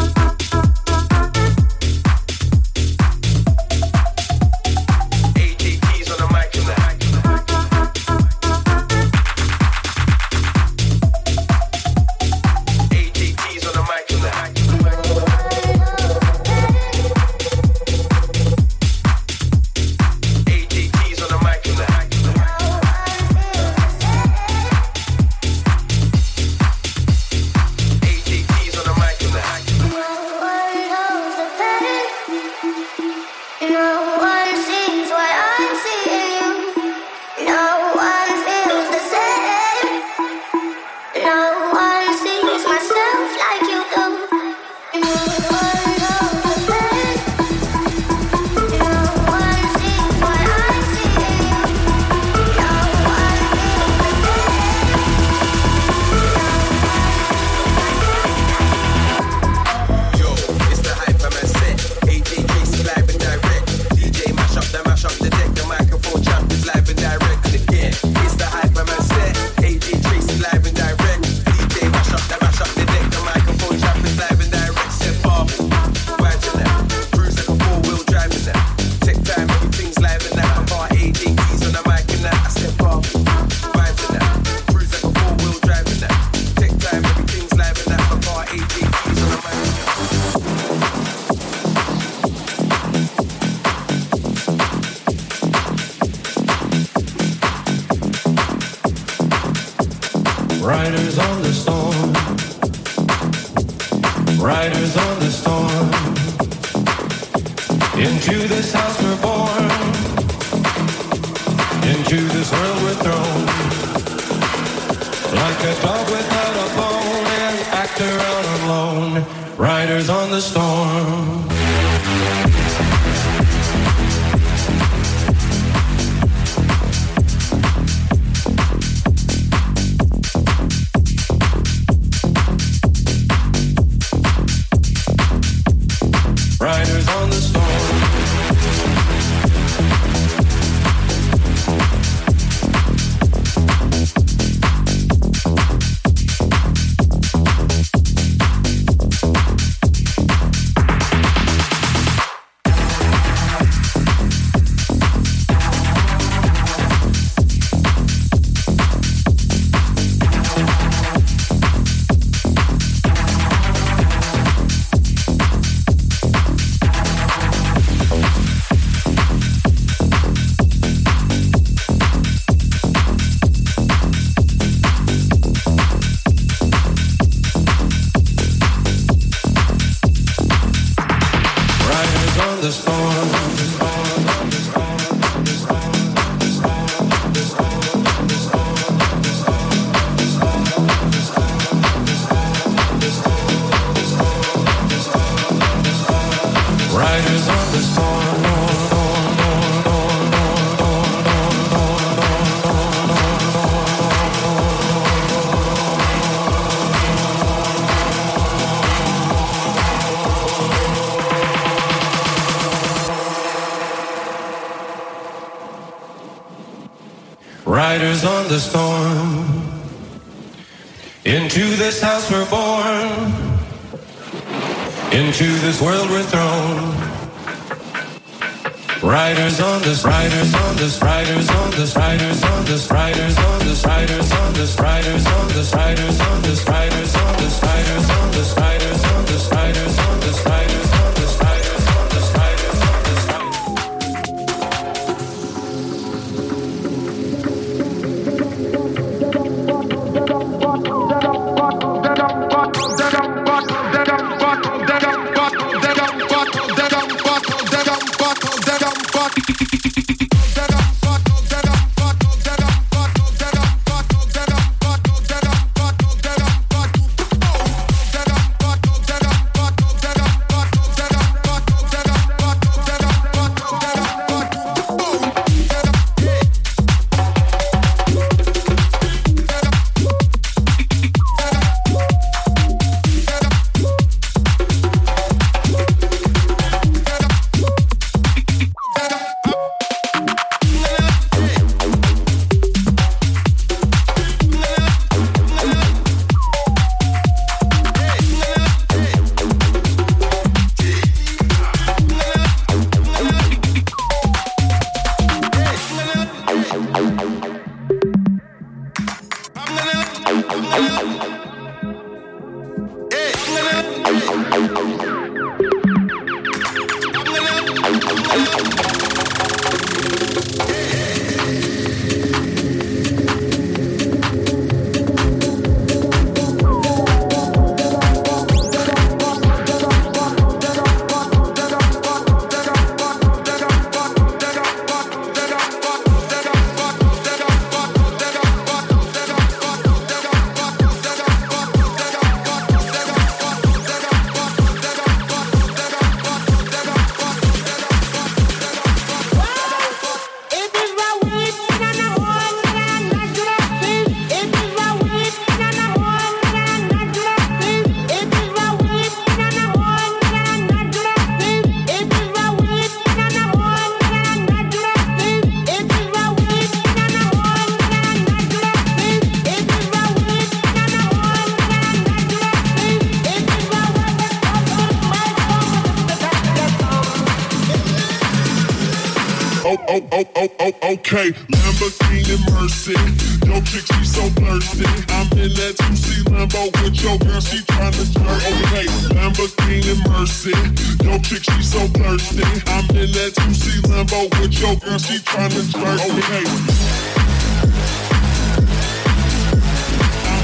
Riders on the storm. Riders on the storm. Into this house we're born. Into this world we're thrown. Like a dog without a bone, an actor out alone. Riders on the storm. Riders on the storm. Riders on the storm. Into this house we're born. Into this world we're thrown. Riders on this, riders on this, riders on this, riders on this, riders on this, riders on this, riders on this, riders on this, riders on this, riders on this, riders on this, riders on this, riders on this, riders on this, riders on this. Okay, Lamborghini Mercy. Yo, chick, she so thirsty. I'm in that 2C Lambo with your girl, she tryna jerk. Okay, Lamborghini Mercy. Yo, chick, she so thirsty. I'm in that 2C Lambo with your girl, she tryna jerk. Okay. I'm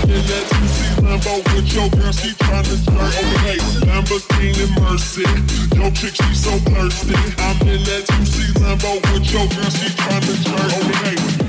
in that 2C Lambo with your girl, she tryna flirt. Okay, Lamborghini Mercy, your chick, she so thirsty. I'm in that 2C Lambo with your girl, she tryna flirt. Okay.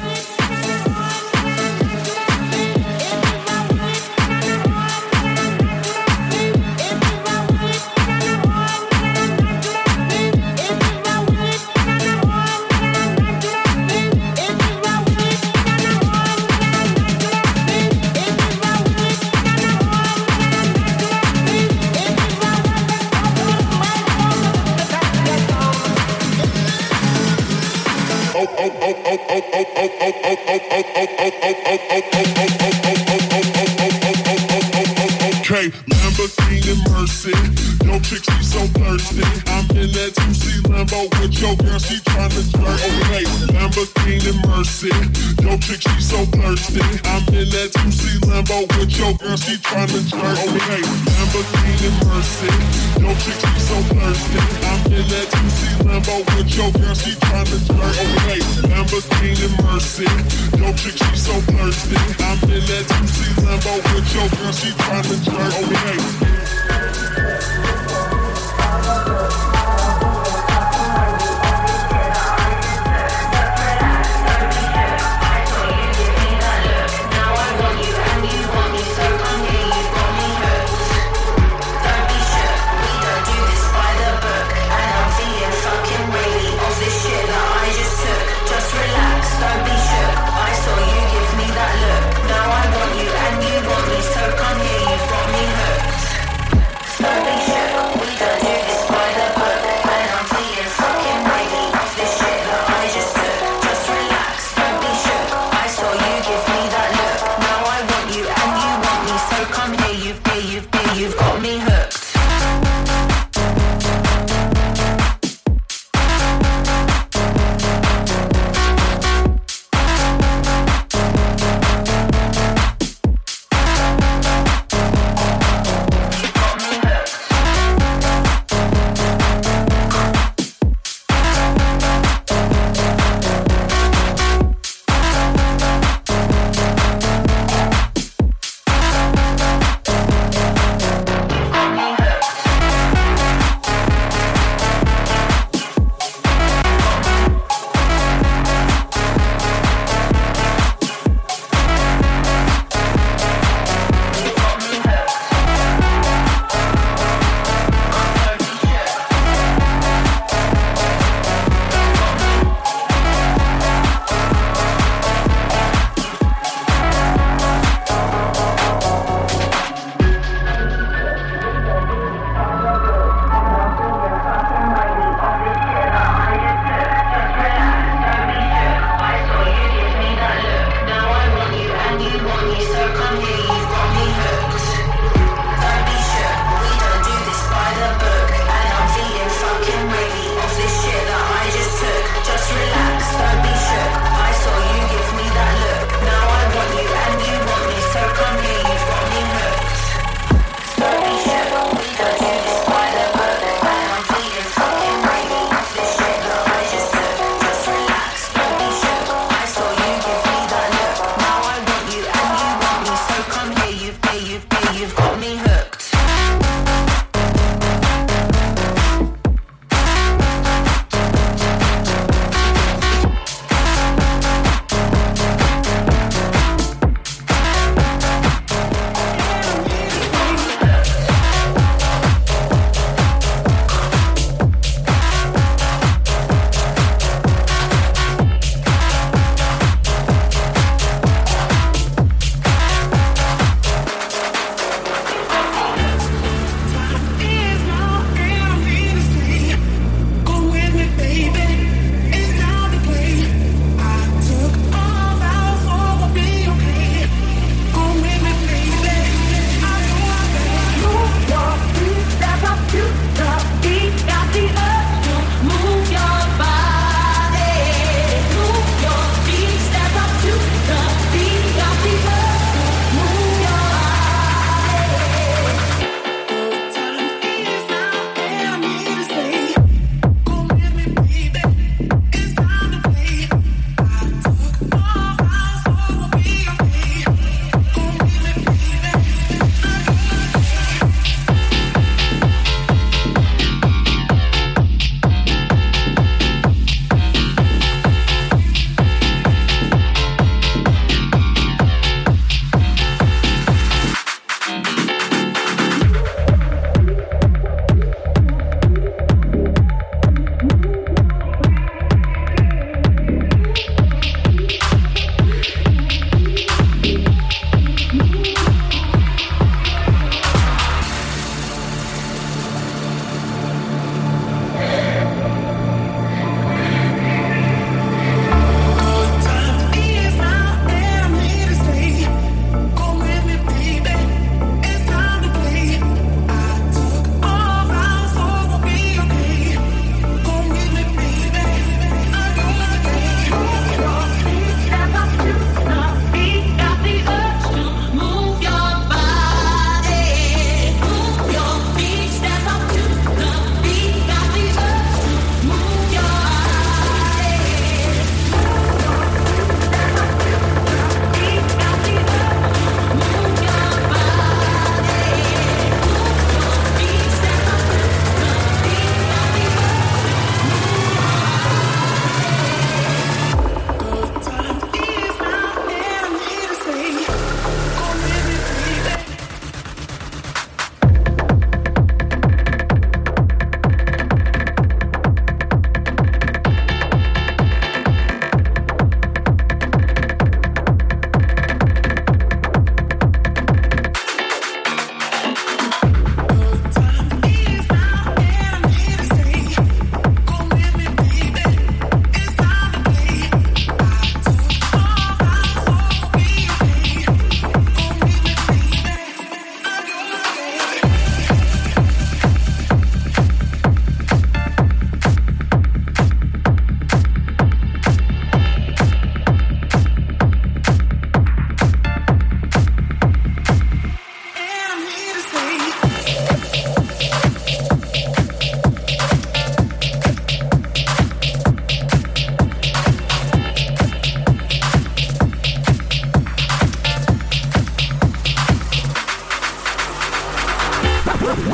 Okay, Lamborghini Mercy, your chick, she so thirsty. I'm in that 2C Lambo with your girl, she tryna flirt. Okay, Lamborghini Mercy, your chick, she so thirsty. I'm in that 2C Lambo with your girl, she tryna flirt. Okay, Lamborghini Mercy, your chick, she so thirsty. I'm in that 2C Lambo with your girl, she tryna flirt. Okay, Lamborghini Mercy, your chick, she so thirsty. I'm in that 2C Lambo with your girl, she tryna flirt. Okay. Stop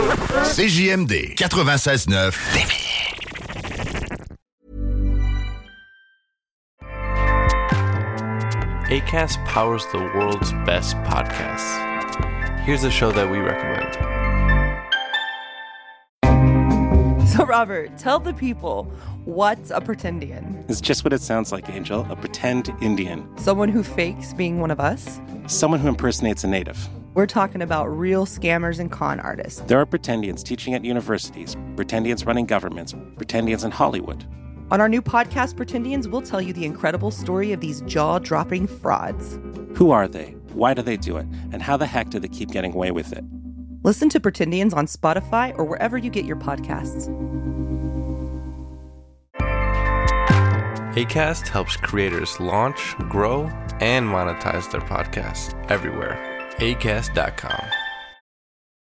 CJMD 96.9 Lévis. Acast powers the world's best podcasts. Here's a show that we recommend. So, Robert, tell the people, what's a pretendian? It's just what it sounds like, Angel. A pretend Indian. Someone who fakes being one of us? Someone who impersonates a native. We're talking about real scammers and con artists. There are pretendians teaching at universities, pretendians running governments, pretendians in Hollywood. On our new podcast, Pretendians, we'll tell you the incredible story of these jaw-dropping frauds. Who are they? Why do they do it? And how the heck do they keep getting away with it? Listen to Pretendians on Spotify or wherever you get your podcasts. Acast helps creators launch, grow, and monetize their podcasts everywhere. Acast.com.